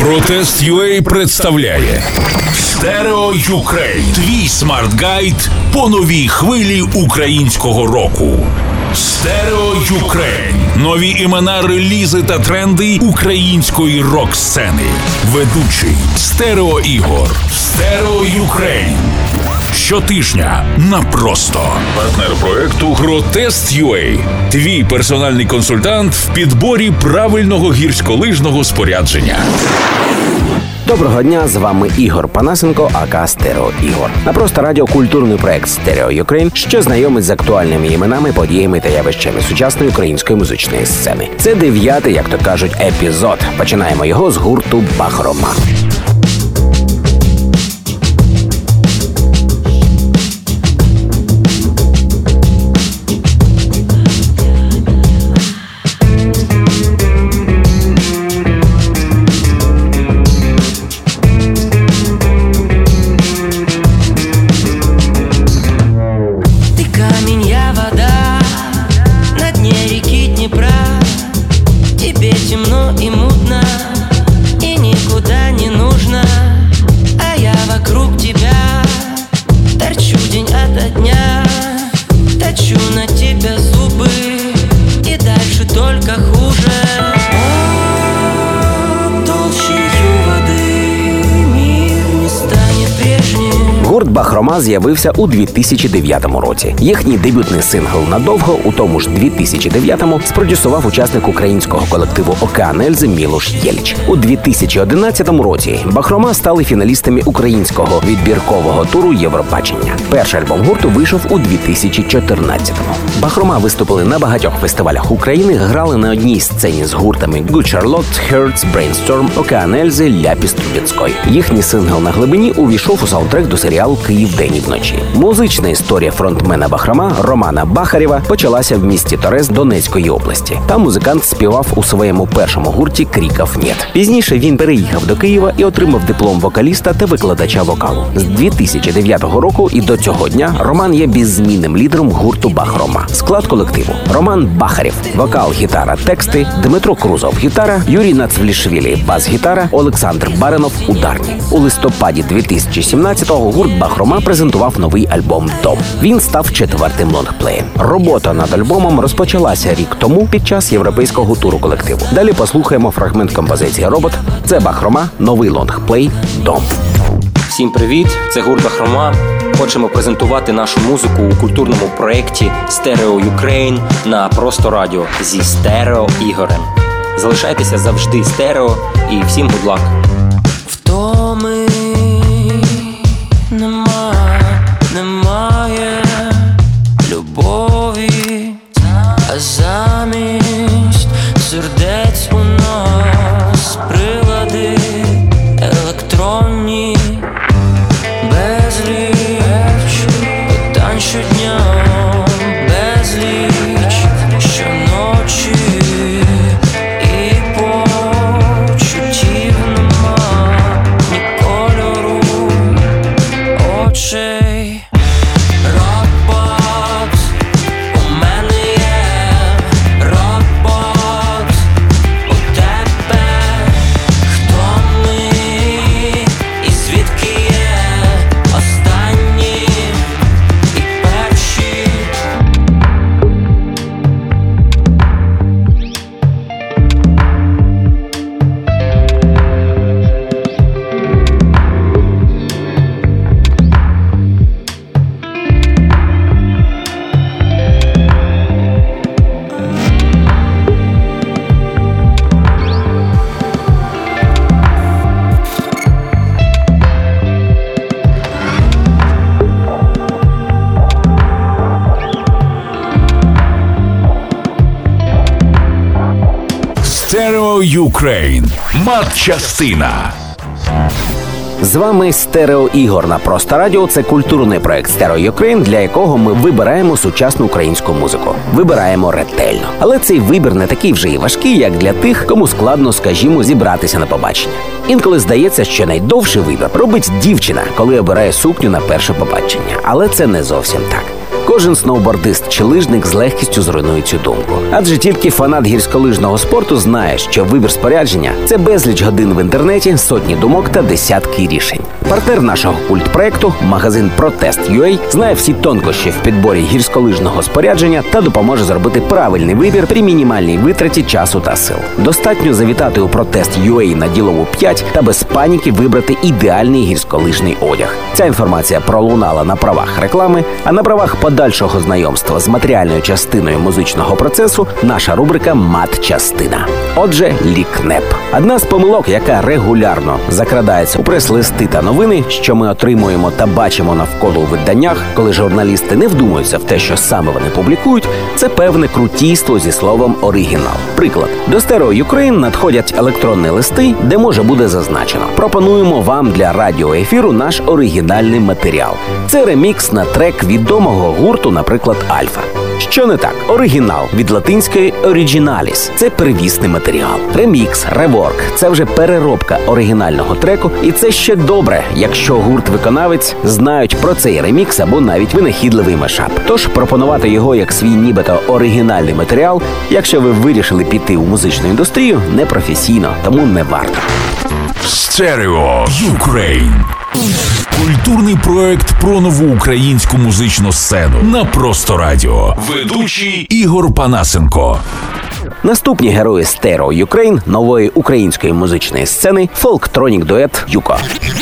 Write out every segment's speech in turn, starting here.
Протест.UA представляє Стерео Юкрейн. Твій смарт-гайд по новій хвилі українського року. Стерео Юкрейн. Нові імена, релізи та тренди української рок-сцени. Ведучий Стерео Ігор. Стерео Юкрейн. Щотижня на просто. Партнер проекту Протест.UA. Твій персональний консультант в підборі правильного гірськолижного спорядження. Доброго дня, з вами Ігор Панасенко, ака Стерео Ігор. На просто радіо культурний проект Стерео Юкрейн, що знайомить з актуальними іменами, подіями та явищами сучасної української музичної сцени. Це 9-й, як то кажуть, епізод. Починаємо його з гурту Бахрома. Гурт Бахрома з'явився у 2009 році. Їхній дебютний сингл «Надовго» у тому ж 2009-му спродюсував учасник українського колективу «Океан Ельзи» Мілош Єльч. У 2011 році Бахрома стали фіналістами українського відбіркового туру Євробачення. Перший альбом гурту вийшов у 2014-му. Бахрома виступили на багатьох фестивалях України, грали на одній сцені з гуртами Good Charlotte, Hertz, Brainstorm, «Океан Ельзи», Ляпіс Трубецької. Їхній сингл «На глибині» увійшов у саундтрек до серіалу «Київ день і вночі». Музична історія фронтмена Бахрома Романа Бахарєва почалася в місті Торез Донецької області. Там музикант співав у своєму першому гурті «Кріков нет». Пізніше він переїхав до Києва і отримав диплом вокаліста та викладача вокалу. З 2009 року і до цього дня Роман є беззмінним лідером гурту Бахрома. Склад колективу: Роман Бахарєв – вокал, гітара, тексти, Дмитро Крузов – гітара, Юрій Нацвлішвілі – бас-гітара, Олександр Баринов – ударні. У листопаді 2017-го гурт Бахрома презентував новий альбом «Дом». Він став 4-тим лонгплеєм. Робота над альбомом розпочалася рік тому під час європейського туру колективу. Далі послухаємо фрагмент композиції «Робот». Це Бахрома, новий лонгплей «Дом». Всім привіт, це гурт Бахрома. Хочемо презентувати нашу музику у культурному проєкті Стерео Юкрейн на Просто Радіо зі Стерео Ігорем. Залишайтеся завжди стерео і всім good luck. Втоми немає любові, а замість сердець у нас прилади електронні, безліч питань щодня, безліч щоночі, і почуттів нема, ні кольору очей. Робот, у мене є робот, у тебе. Хто ми і звідки є останні і перші? Стерео Юкрейн. Матчастина. З вами Стерео Ігор на Просто Радіо. Це культурний проект Стерео Юкрейн, для якого ми вибираємо сучасну українську музику. Вибираємо ретельно. Але цей вибір не такий вже і важкий, як для тих, кому складно, скажімо, зібратися на побачення. Інколи здається, що найдовший вибір робить дівчина, коли обирає сукню на перше побачення. Але це не зовсім так. Кожен сноубордист чи лижник з легкістю зруйнує цю думку. Адже тільки фанат гірськолижного спорту знає, що вибір спорядження – це безліч годин в інтернеті, сотні думок та десятки рішень. Партнер нашого культпроекту, магазин Protest.ua, знає всі тонкощі в підборі гірськолижного спорядження та допоможе зробити правильний вибір при мінімальній витраті часу та сил. Достатньо завітати у Protest.ua на Ділову 5 та без паніки вибрати ідеальний гірськолижний одяг. Ця інформація пролунала на правах реклами, а на правах подальшого знайомства з матеріальною частиною музичного процесу наша рубрика «Матчастина». Отже, лікнеп. Одна з помилок, яка регулярно закрадається у прес-листи та новини, що ми отримуємо та бачимо навколо у виданнях, коли журналісти не вдумуються в те, що саме вони публікують, це певне крутійство зі словом «оригінал». Приклад. До Stereo Ukraine надходять електронні листи, де може буде зазначено: пропонуємо вам для радіоефіру наш оригінальний матеріал. Це ремікс на трек відомого гурту, наприклад, Альфа. Що не так? Оригінал від латинської originalis – це первісний матеріал. Ремікс, реворк – це вже переробка оригінального треку, і це ще добре, якщо гурт-виконавець знають про цей ремікс або навіть винахідливий мешап. Тож пропонувати його як свій нібито оригінальний матеріал, якщо ви вирішили піти у музичну індустрію, непрофесійно, тому не варто. Stereo Ukraine. Культурний проект про нову українську музичну сцену на Просто Радіо. Ведучий Ігор Панасенко. Наступні герої Stereo Ukraine нової української музичної сцени – фолктронік-дует «Юко».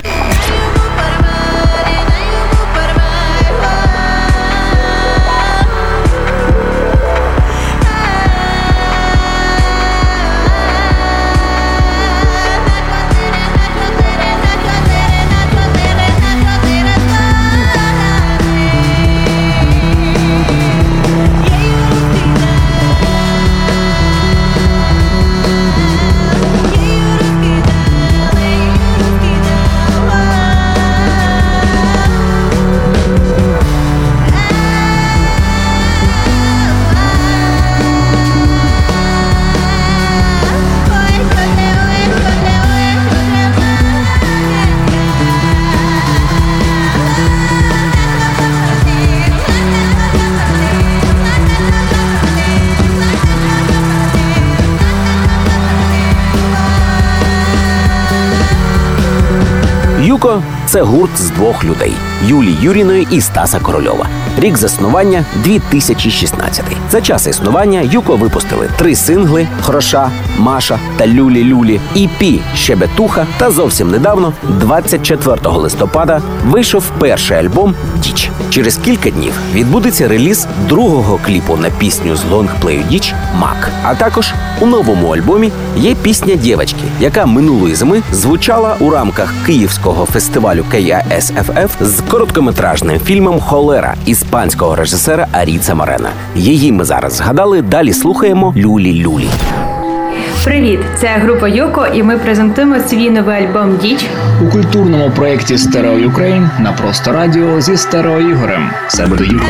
«Юко» – це гурт з двох людей – Юлії Юріної і Стаса Корольова. Рік заснування – 2016. За час існування «Юко» випустили 3 сингли «Хроша», «Маша» та «Люлі-люлі», EP «Щебетуха» та зовсім недавно, 24 листопада, вийшов перший альбом «Діч». Через кілька днів відбудеться реліз другого кліпу на пісню з лонгплею «Діч» «Мак». А також у новому альбомі є пісня «Дєвочки», яка минулої зими звучала у рамках київського фестивалю KISFF з короткометражним фільмом «Холера» іспанського режисера Аріца Морена. Її ми зараз згадали, далі слухаємо «Люлі-люлі». Привіт! Це група «Юко» і ми презентуємо свій новий альбом «Діч» у культурному проєкті Stereo Ukraine на Просто Радіо зі Стерео Ігорем. Це буде «Юко».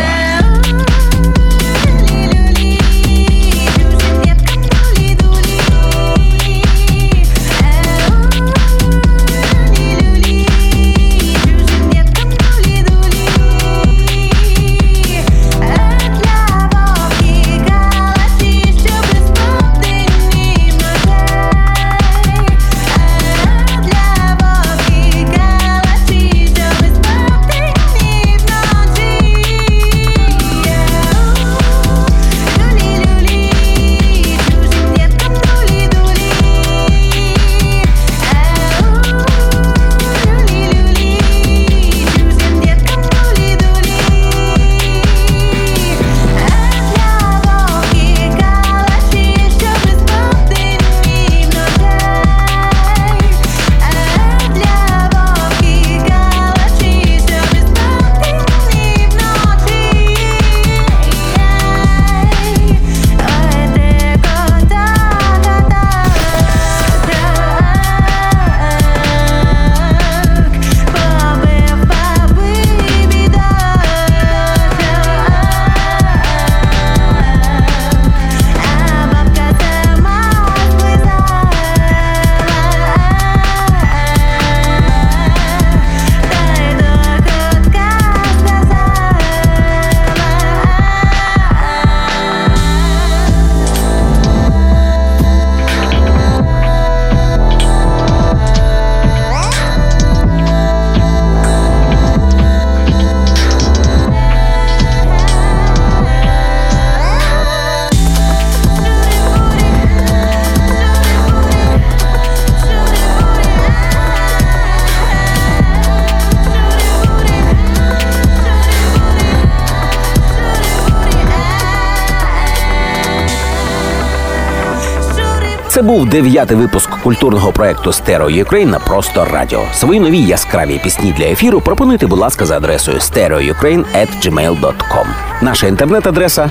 був 9-й випуск культурного проекту Stereo Ukraine на Просто Радіо. Свої нові яскраві пісні для ефіру пропонуйте, будь ласка, за адресою stereoukraine@gmail.com. Наша інтернет-адреса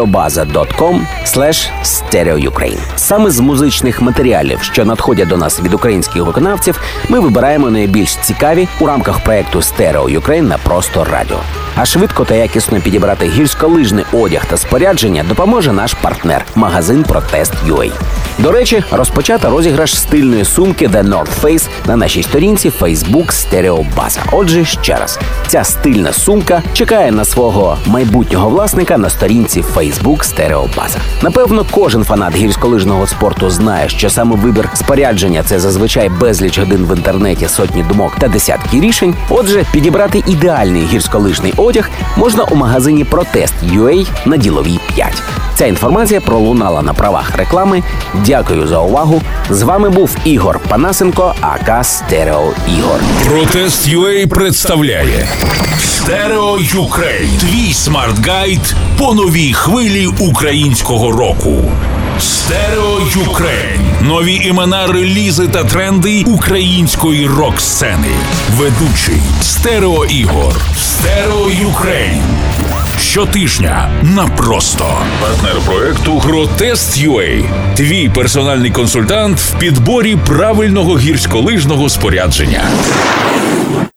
stereobaza.com/stereoukraine. Саме з музичних матеріалів, що надходять до нас від українських виконавців, ми вибираємо найбільш цікаві у рамках проекту Stereo Ukraine на Просто Радіо. А швидко та якісно підібрати гірськолижний одяг та спорядження допоможе наш партнер – магазин Protest.ua. До речі, розпочато розіграш стильної сумки The North Face на нашій сторінці Facebook Stereo Baza. Отже, ще раз, ця стильна сумка чекає на свого майбутнього власника на сторінці Facebook Stereo Baza. Напевно, кожен фанат гірськолижного спорту знає, що саме вибір спорядження – це зазвичай безліч годин в інтернеті, сотні думок та десятки рішень. Отже, підібрати ідеальний гірськолижний одяг можна у магазині Protest.ua на Діловій 5. Ця інформація пролунала на правах реклами. Дякую за увагу. З вами був Ігор Панасенко, АК Стерео Ігор. Protest.ua представляє Stereo Ukraine. Твій смарт-гайд по новій хвилі українського року. Stereo Ukraine. Нові імена, релізи та тренди української рок-сцени. Ведучий Стерео Ігор. Stereo Ukraine. Щотижня на Просто. Партнер проекту Protest.ua. Твій персональний консультант в підборі правильного гірськолижного спорядження.